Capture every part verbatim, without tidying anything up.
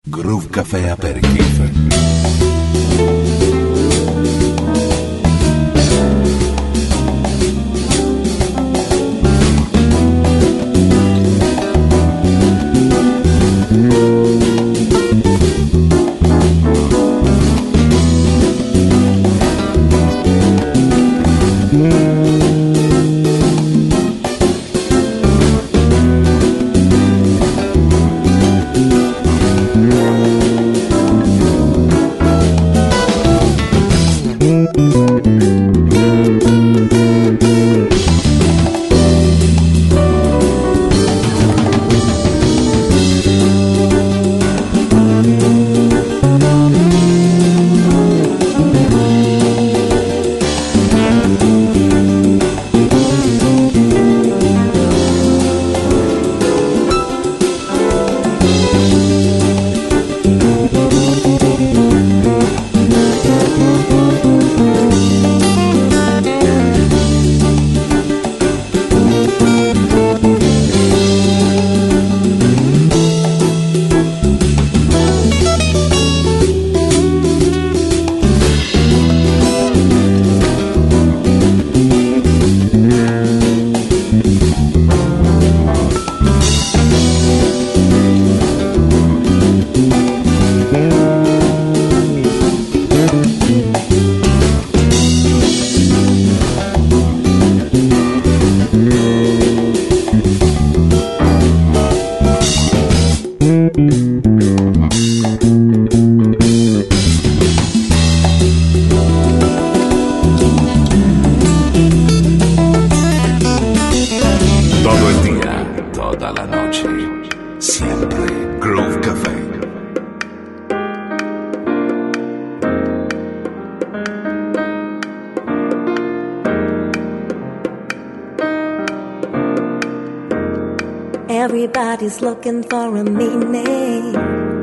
Groove Café Aperitif. Everybody's looking for a meaning.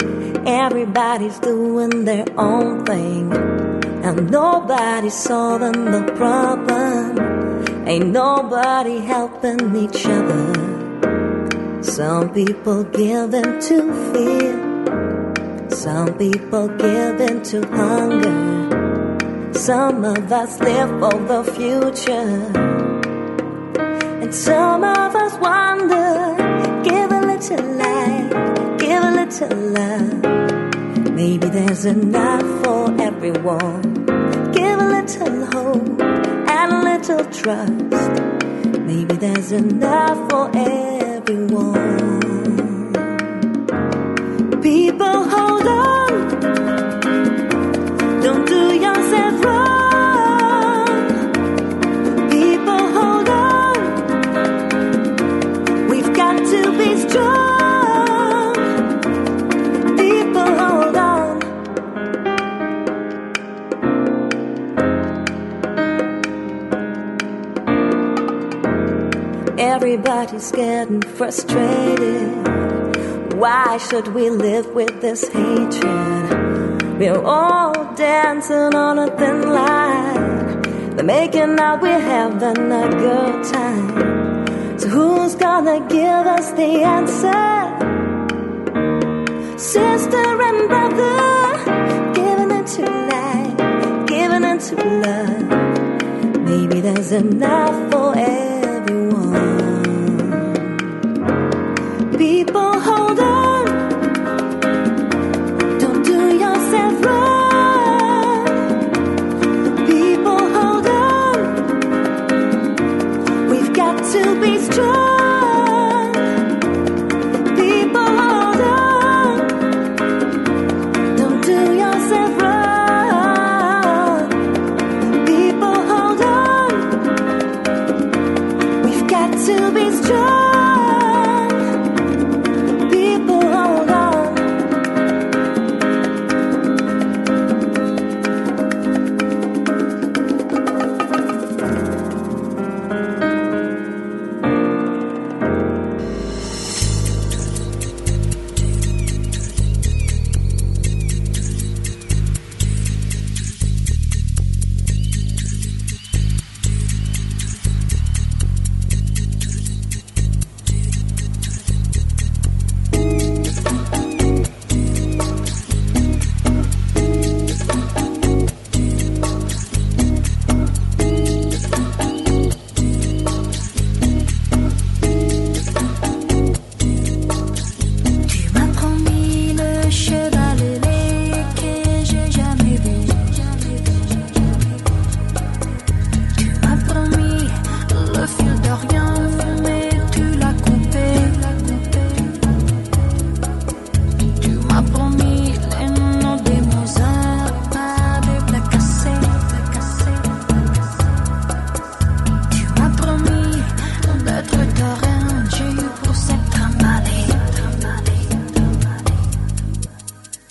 Everybody's doing their own thing. And nobody's solving the problem. Ain't nobody helping each other. Some people give in to fear. Some people give in to hunger. Some of us live for the future. And some of us wonder, give a little light, give a little love. Maybe there's enough for everyone. Give a little hope and a little trust. Maybe there's enough for everyone. People, hold on. Don't do yourself wrong. To be strong, people, hold on. Everybody's getting frustrated. Why should we live with this hatred? We're all dancing on a thin line. They're making out we're having a good time. So who's gonna give us the answer? Sister and brother, giving into light, giving into love. Maybe there's enough for everyone. People, hold on. Don't do yourself wrong. People, hold on. We've got to be strong. People, hold on. Don't do yourself wrong. People, hold on.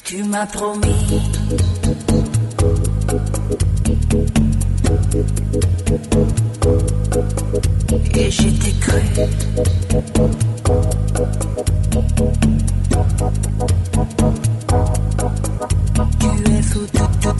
Tu m'as promis. Et j'étais cru. Tu es fou.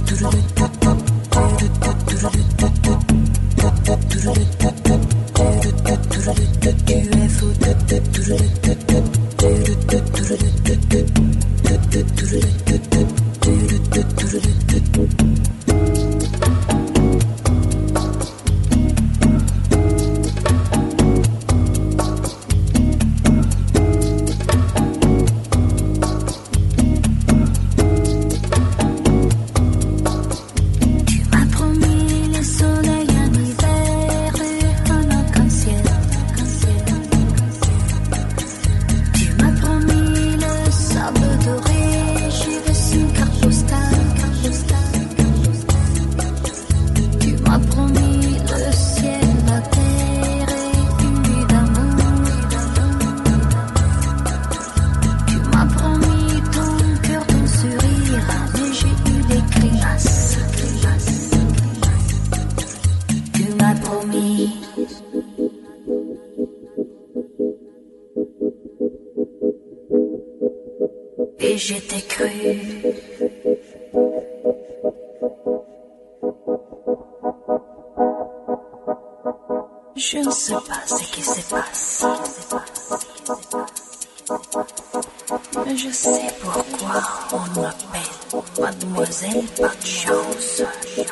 Et j'étais cru. Je ne sais pas ce qui se passe. Mais je sais pourquoi on m'appelle Mademoiselle Pas de Chance.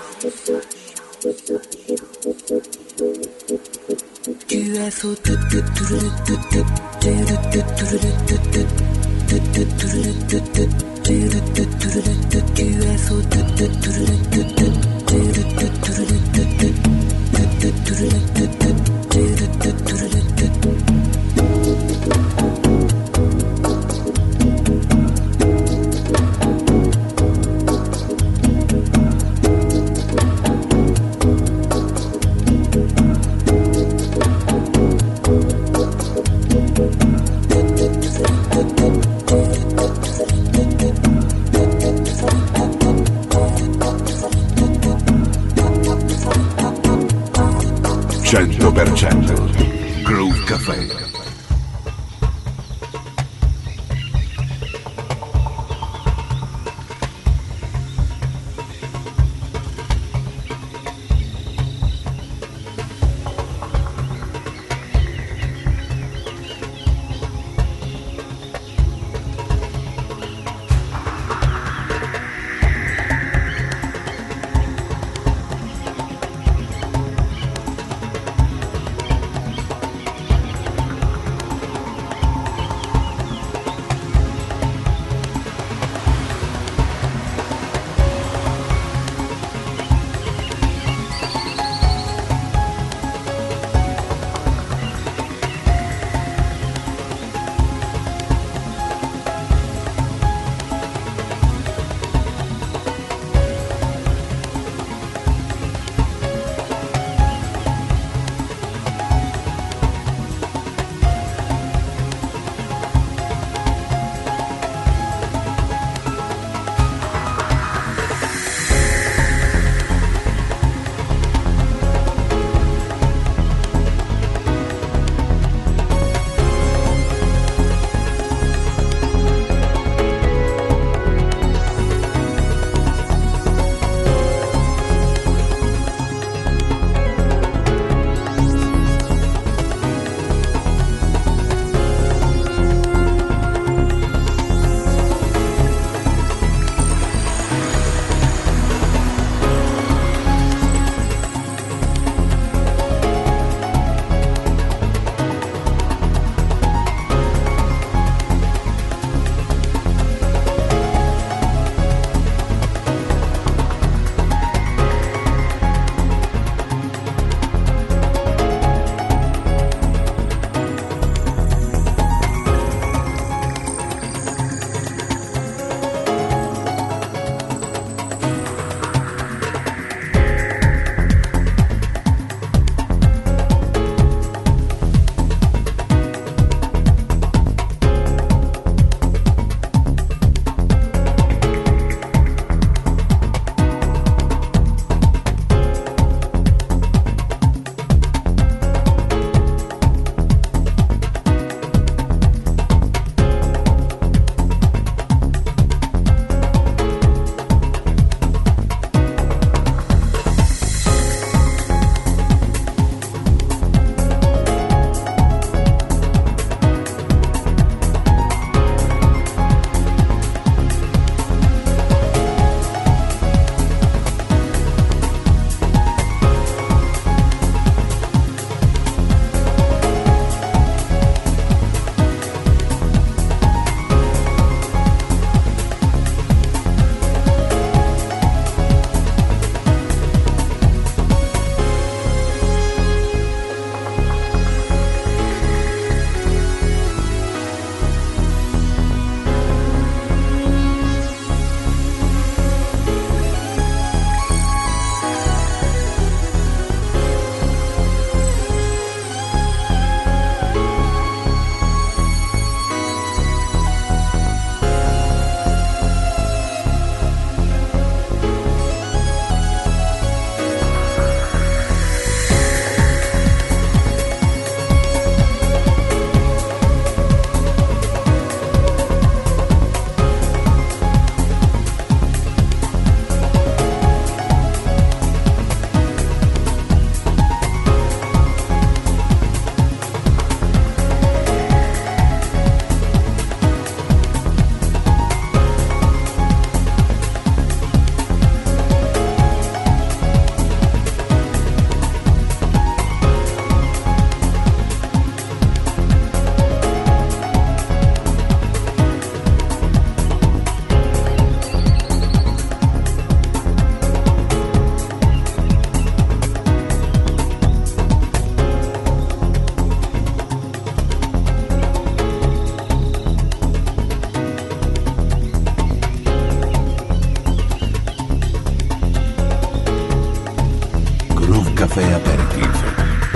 Tu es fou. cento per cento Groove Café.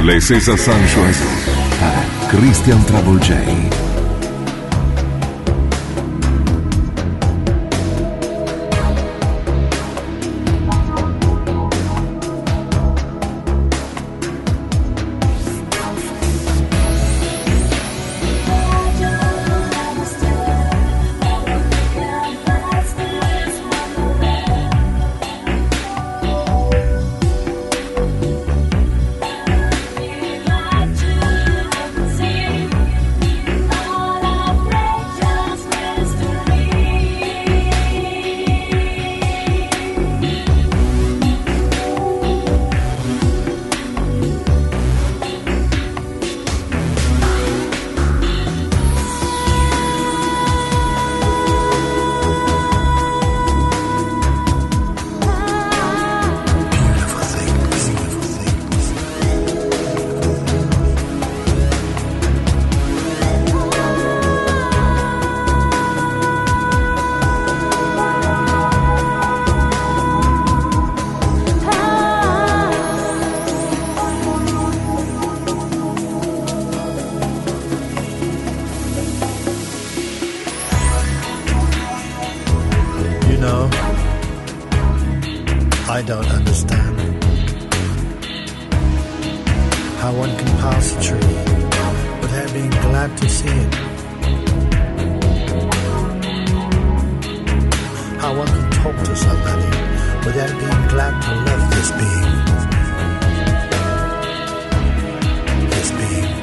Les César Sanchez è Christian Trouble J. I don't understand how one can pass a tree without being glad to see it. How one can talk to somebody without being glad to love this being. This being.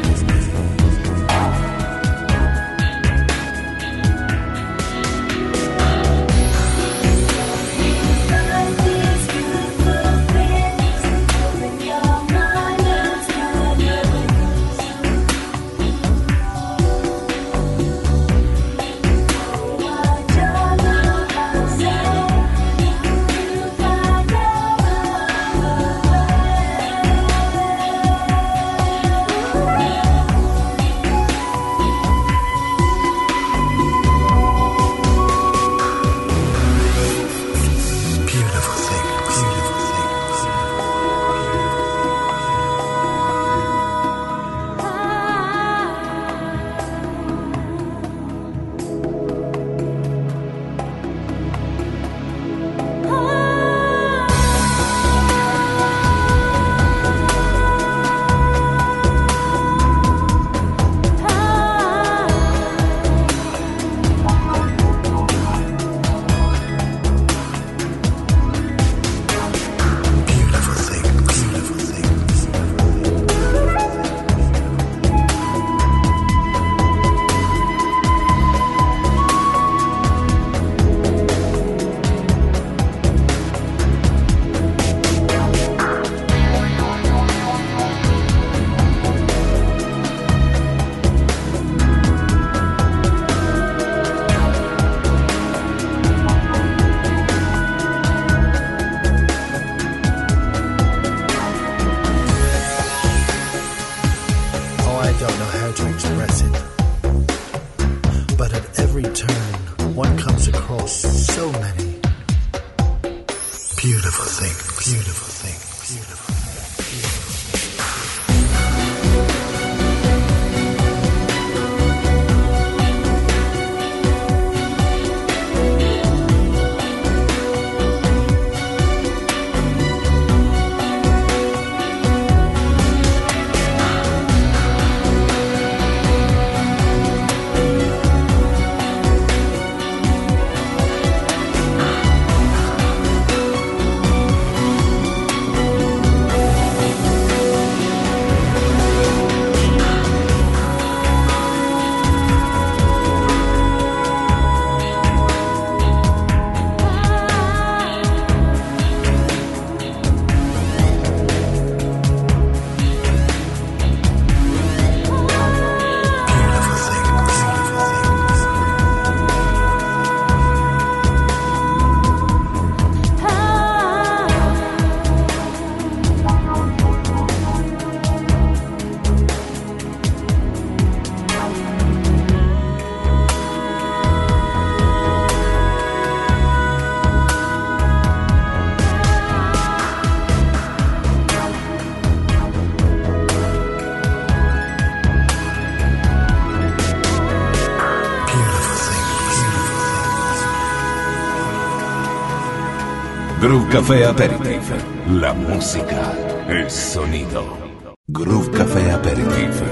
Groove Café Aperitif. La música, el sonido. Groove Café Aperitif.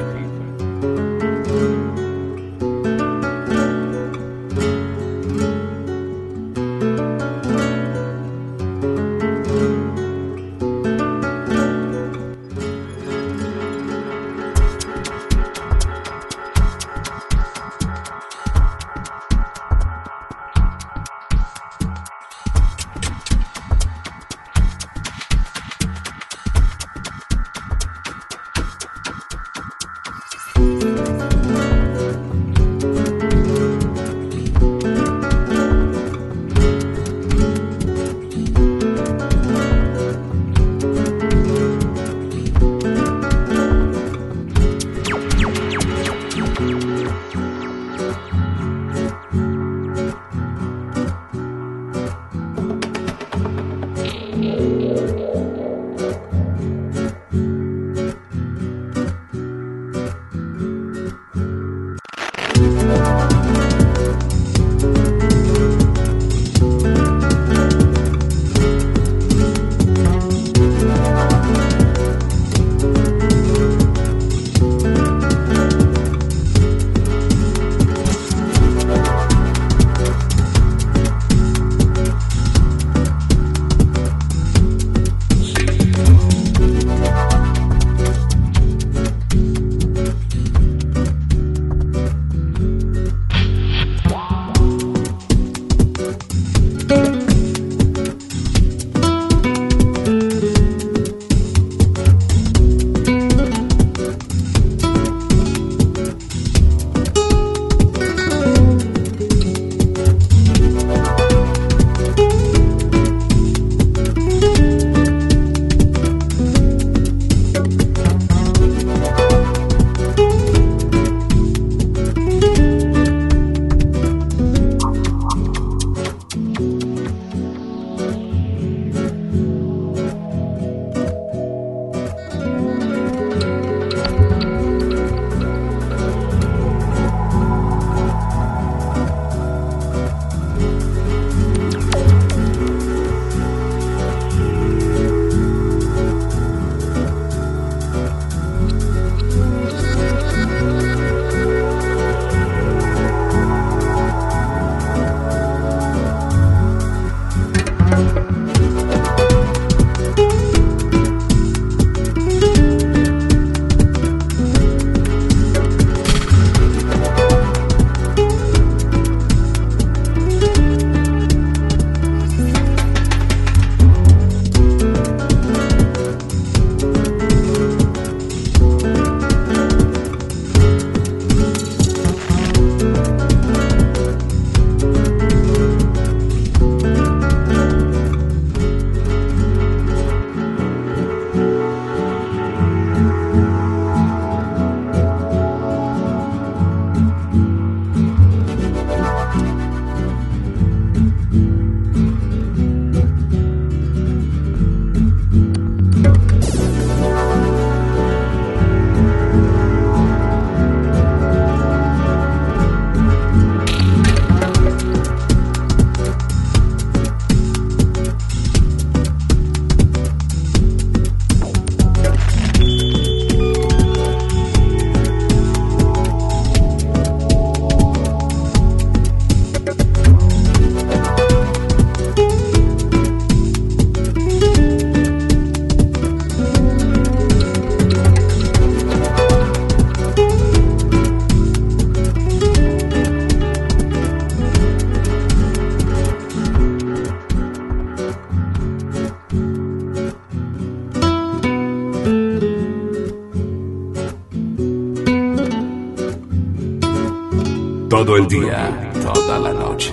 Todo el día, toda la noche,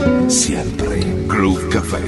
siempre Groove Café.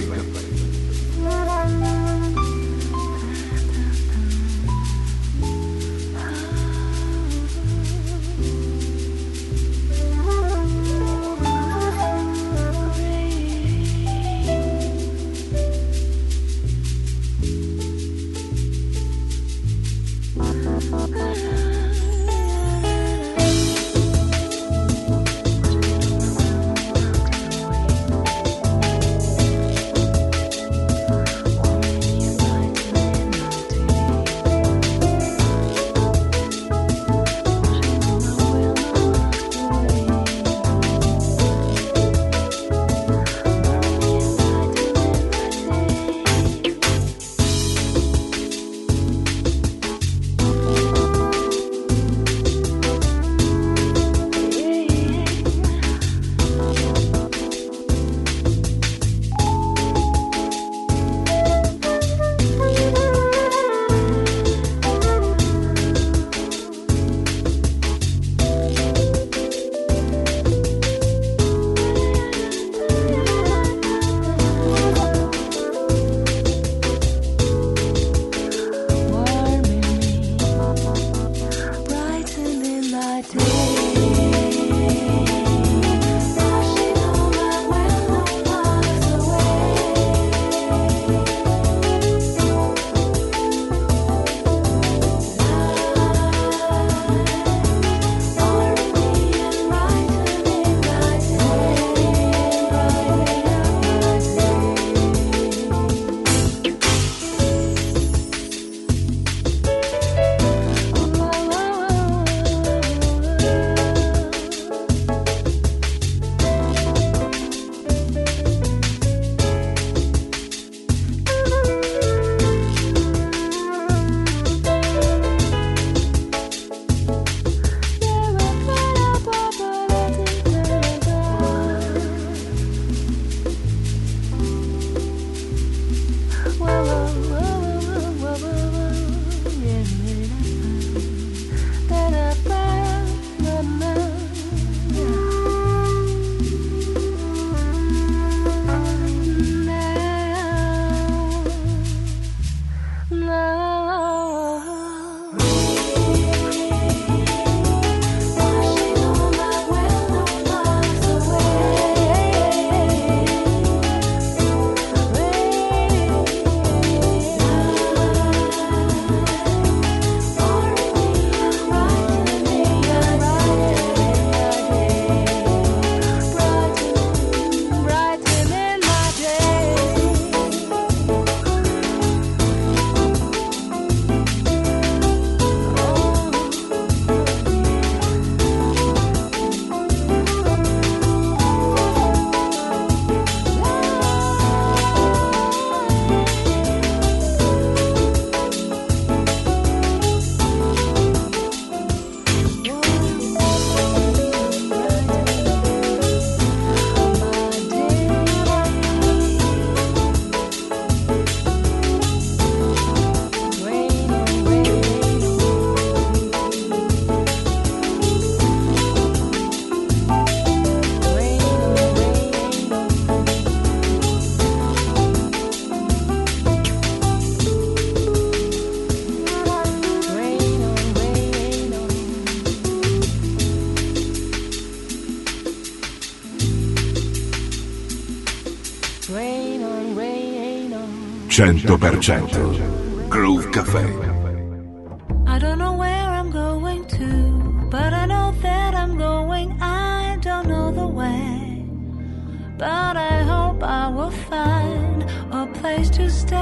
rain on, rain on. cento per cento Groove Café. I don't know where I'm going to, but I know that I'm going. I don't know the way, but I hope I will find a place to stay.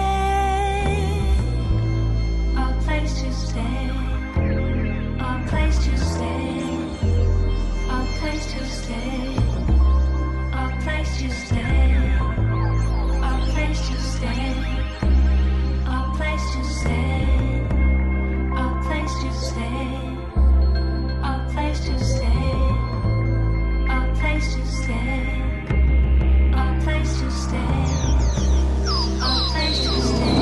A place to stay. A place to stay. A place to stay. A place to stay. A place to stay. A place to stay. A place to stay. A place to stay. A place to stay. A place to stay. A place to stay.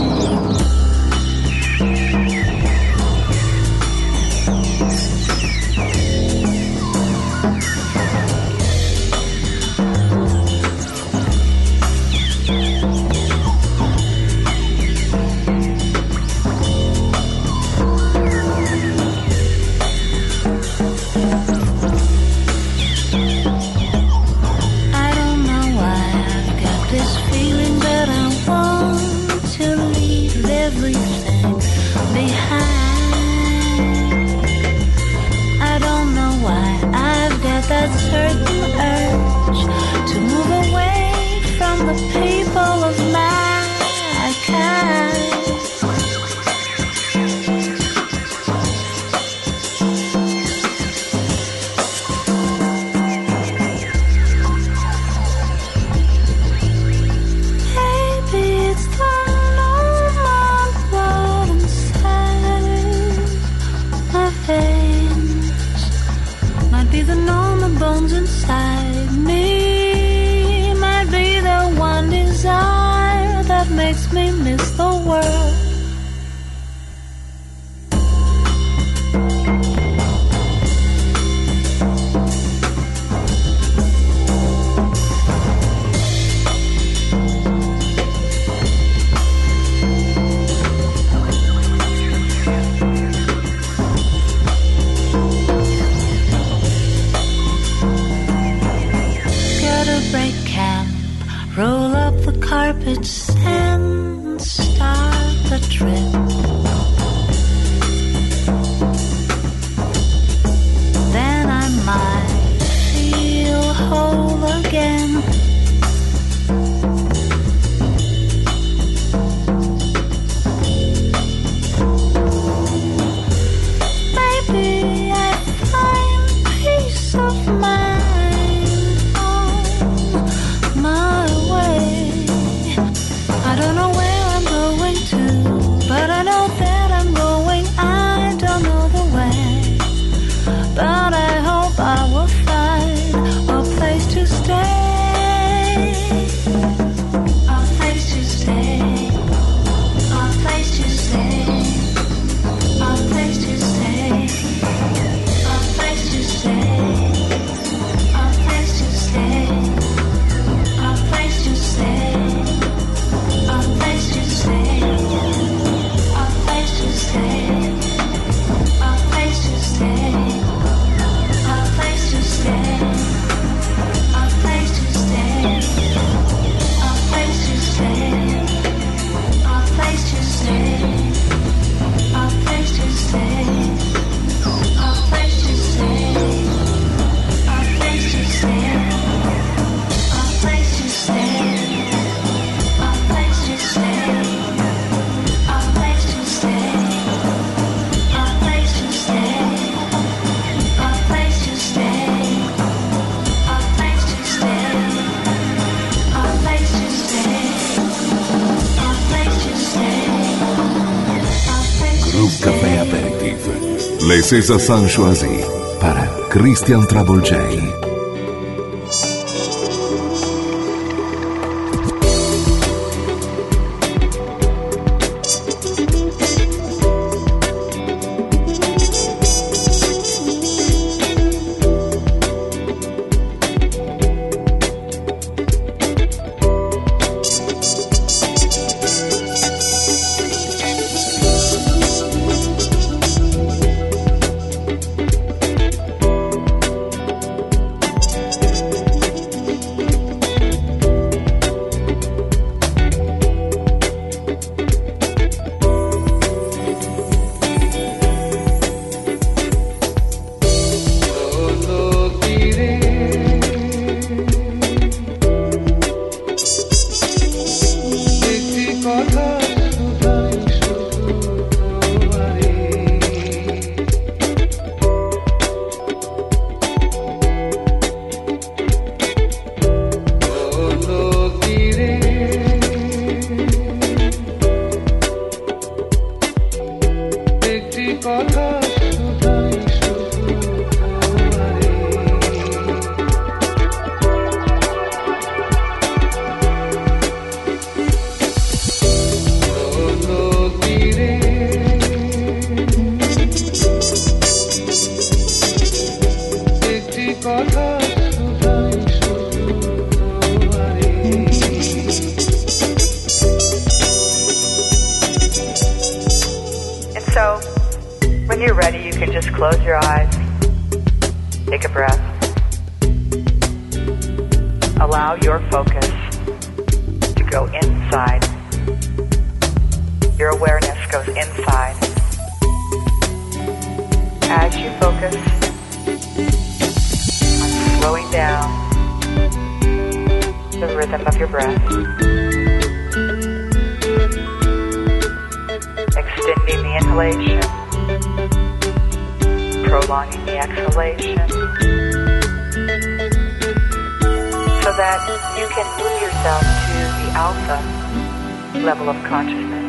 That certain urge to move away from the people of mankind. Maybe it's the normal blood inside my veins. Might be the normal bones inside me, might be the one desire that makes me miss the world. Roll up the carpets and start the trip. Then I might feel whole again. Maybe I find peace of mind. I don't know where I'm going to, but I know that I'm going. I don't know the way, but I hope I will find a place to stay. A place to stay. A place to stay. A place to stay. A place to stay. A place to stay. A place to stay. A place to stay, a place to stay, a place to stay, a place to stay, a place to stay, a place to stay, a place to stay, a place to stay, a place to stay, a place to stay, a place to stay. Groove Café Aperitif. Les César sont choisis par Christian Travolgei. close your eyes, take a breath, allow your focus to go inside. Your awareness goes inside. As you focus on slowing down the rhythm of your breath, extending the inhalation, prolonging the exhalation, so that you can move yourself to the alpha level of consciousness,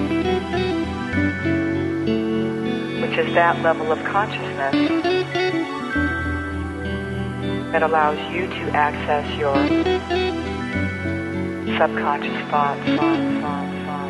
which is that level of consciousness that allows you to access your subconscious thoughts, thoughts, thoughts.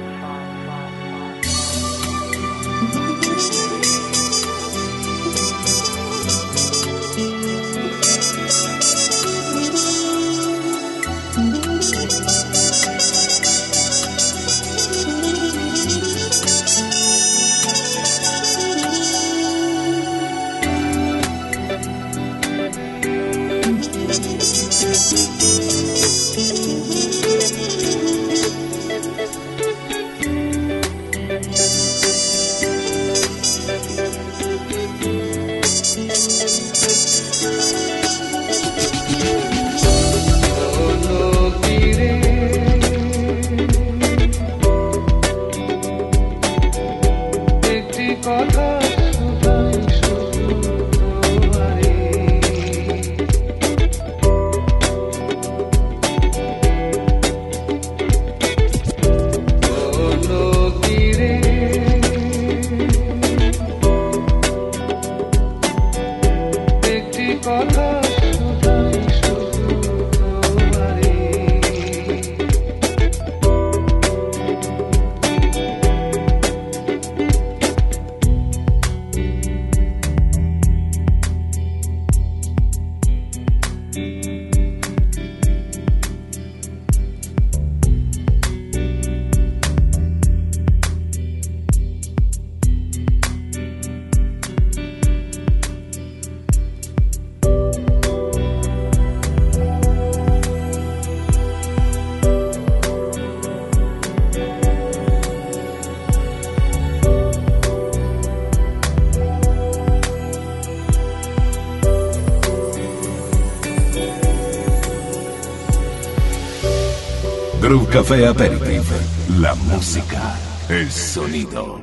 Groove Café Aperitif, la música, el sonido.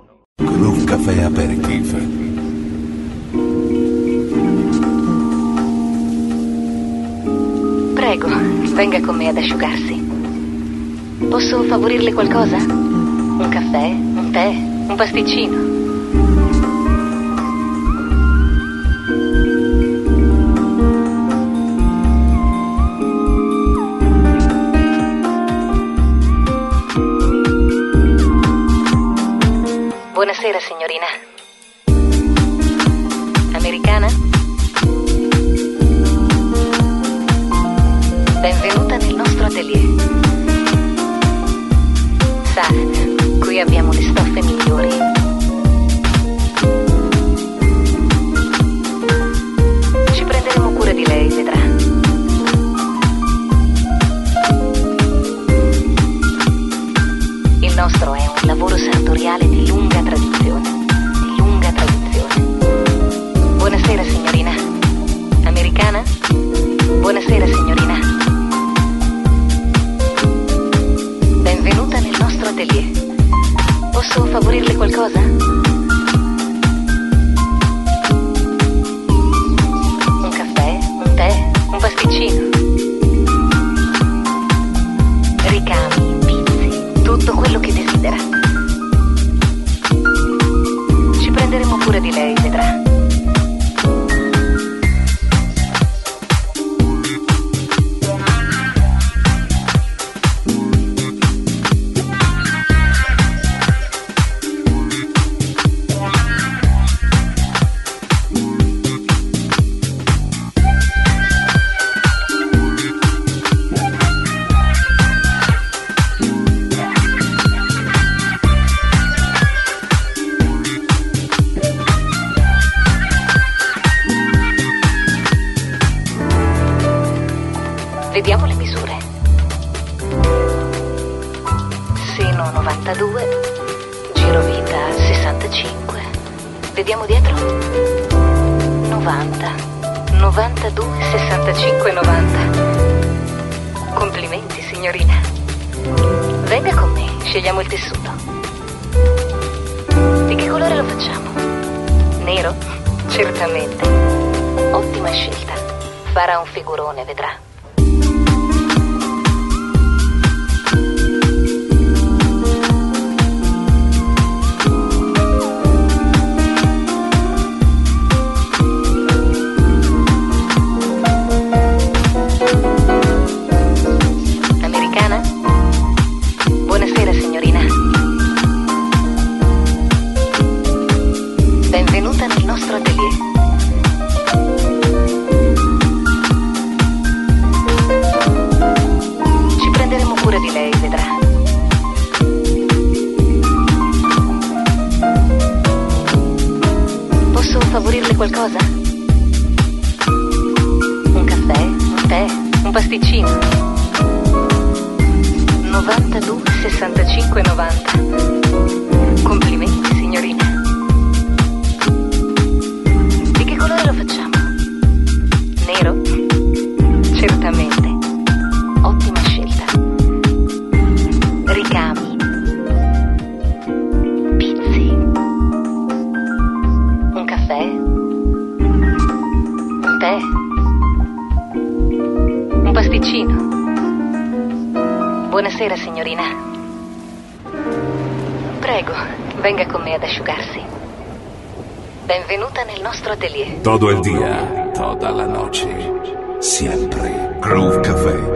Groove Café Aperitif. Prego, venga con me ad asciugarsi. Posso favorirle qualcosa? Un caffè, un tè, un pasticcino? Buonasera, signorina. Americana? Benvenuta nel nostro atelier. Sa, qui abbiamo le stoffe migliori. Ci prenderemo cura di lei, vedrà. Il nostro è un lavoro sartoriale di lunga tradizione, di lunga tradizione. Buonasera, signorina. Americana? Buonasera, signorina. Benvenuta nel nostro atelier. Posso favorirle qualcosa? Un caffè, un tè, un pasticcino? Ricami, pizzi, tutto quello che desidera. Ci prenderemo cura di lei, vedrà. novantadue, girovita sessantacinque, vediamo dietro, novanta, novantadue, sessantacinque, novanta. Complimenti, signorina. Venga con me, scegliamo il tessuto. Di che colore lo facciamo? Nero? Certamente. Ottima scelta. Farà un figurone, vedrà. Americana? Buonasera, signorina. Benvenuta nel nostro atelier. Ci prenderemo cura di lei, vedrà. Posso favorirle qualcosa? Un caffè, un tè, un pasticcino. novantadue, sessantacinque, novanta. Complimenti, signorina. Di che colore lo facciamo? Nero? Certamente. Ottima scelta. Ricami. Pizzi. Un caffè. Un tè. Un pasticcino. Buonasera, signorina. Prego, venga con me ad asciugarsi. Benvenuta nel nostro atelier. Todo el día, toda la noche, siempre. Groove Café.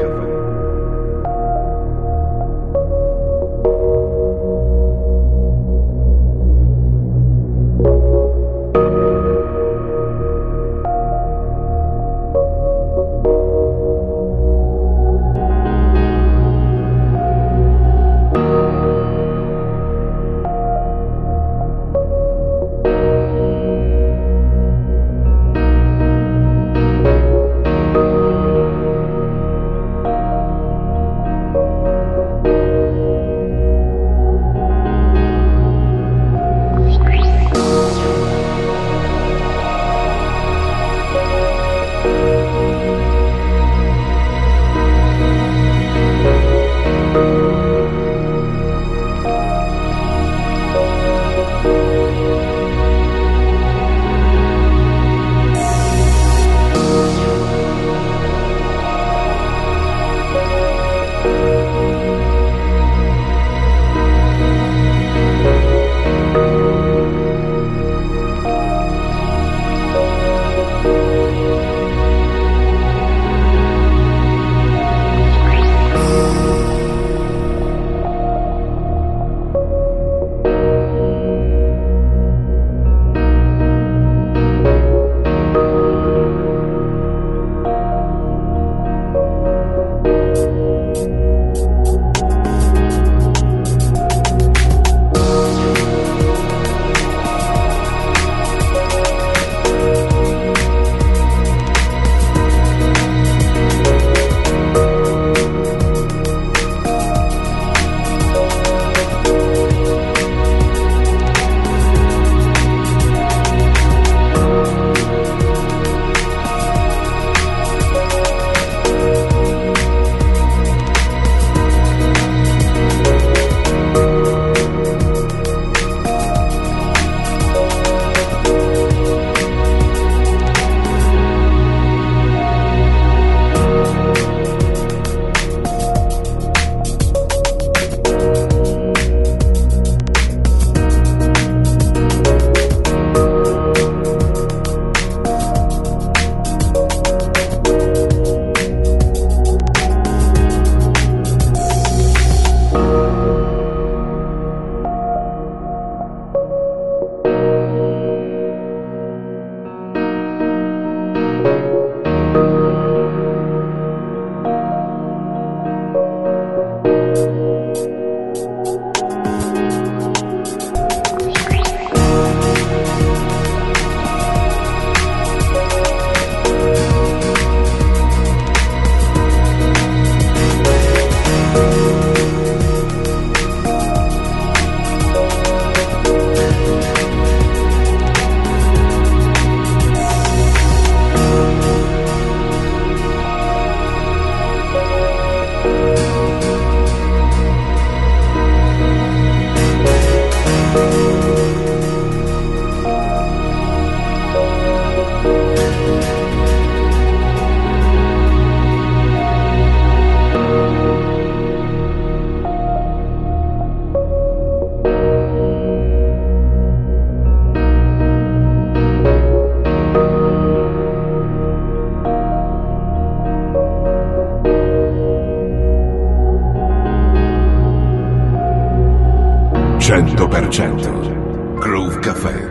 cento per cento Groove Café.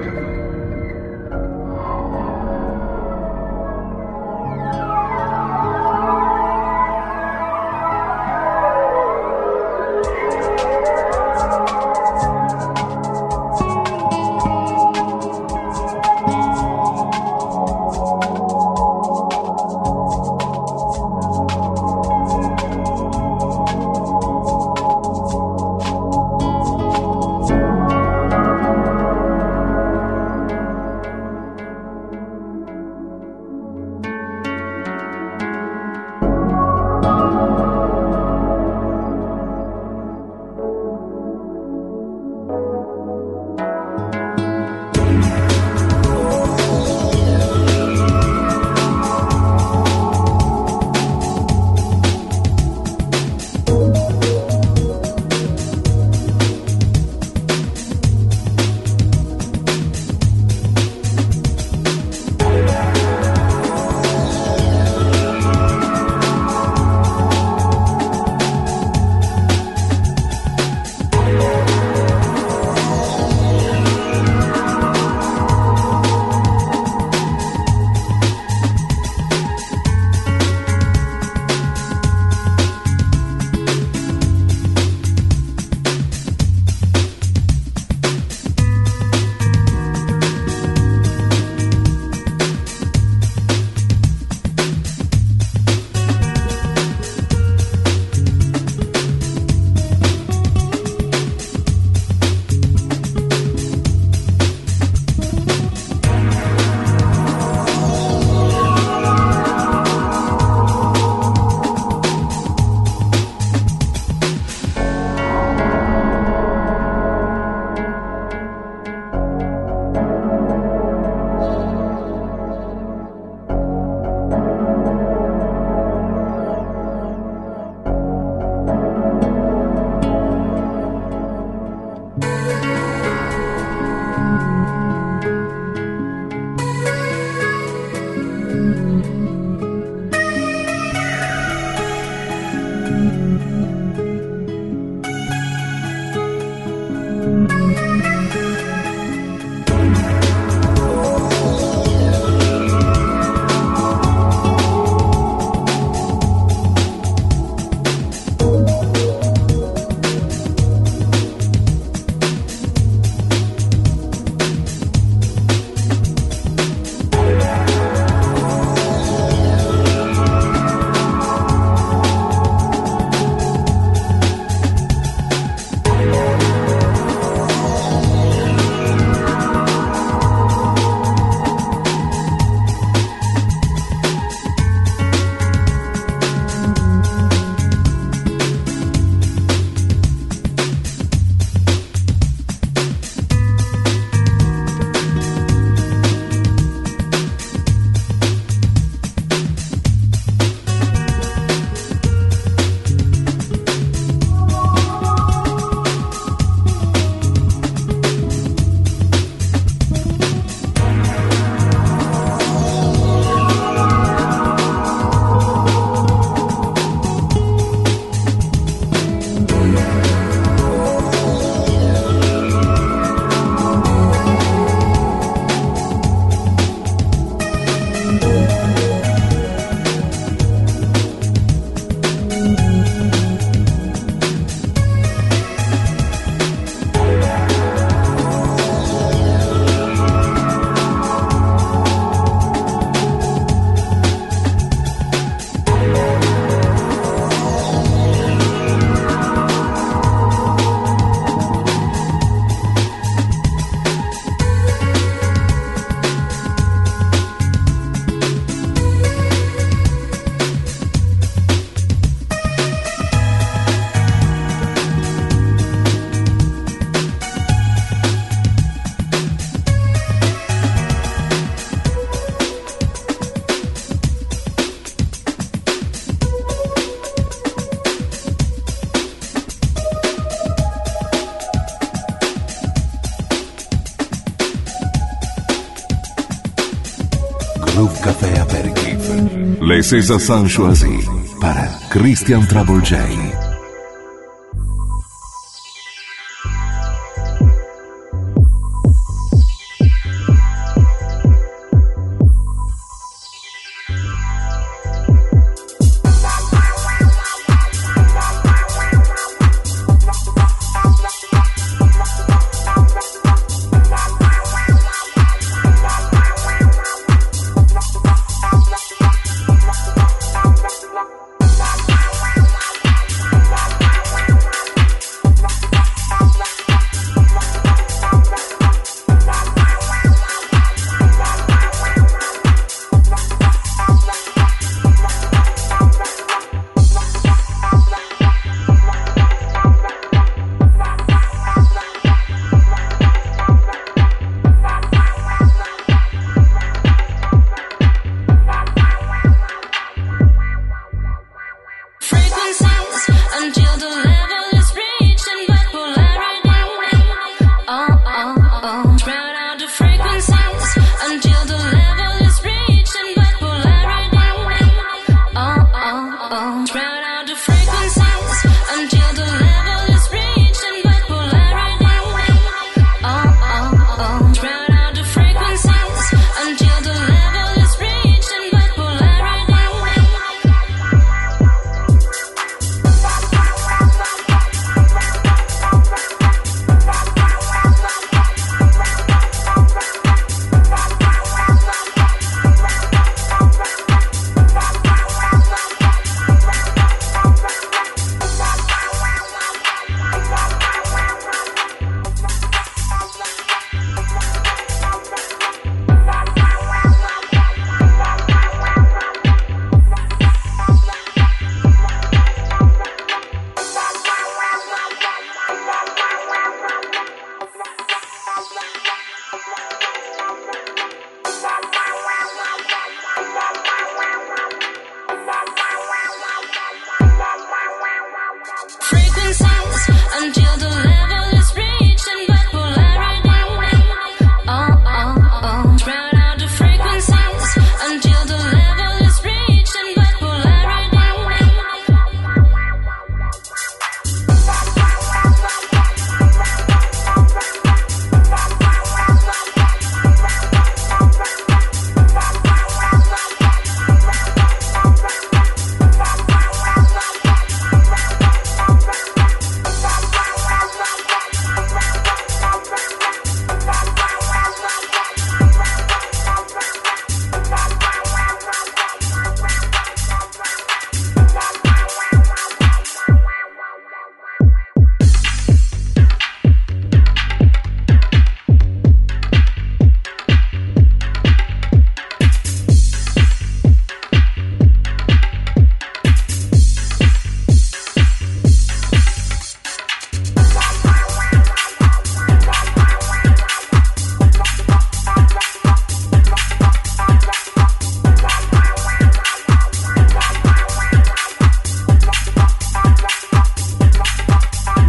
Groove Café Aperitif. Les César Choisi para Christian Trouble J.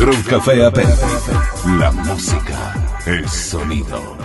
Groove Café Aperitif. La música, el sonido.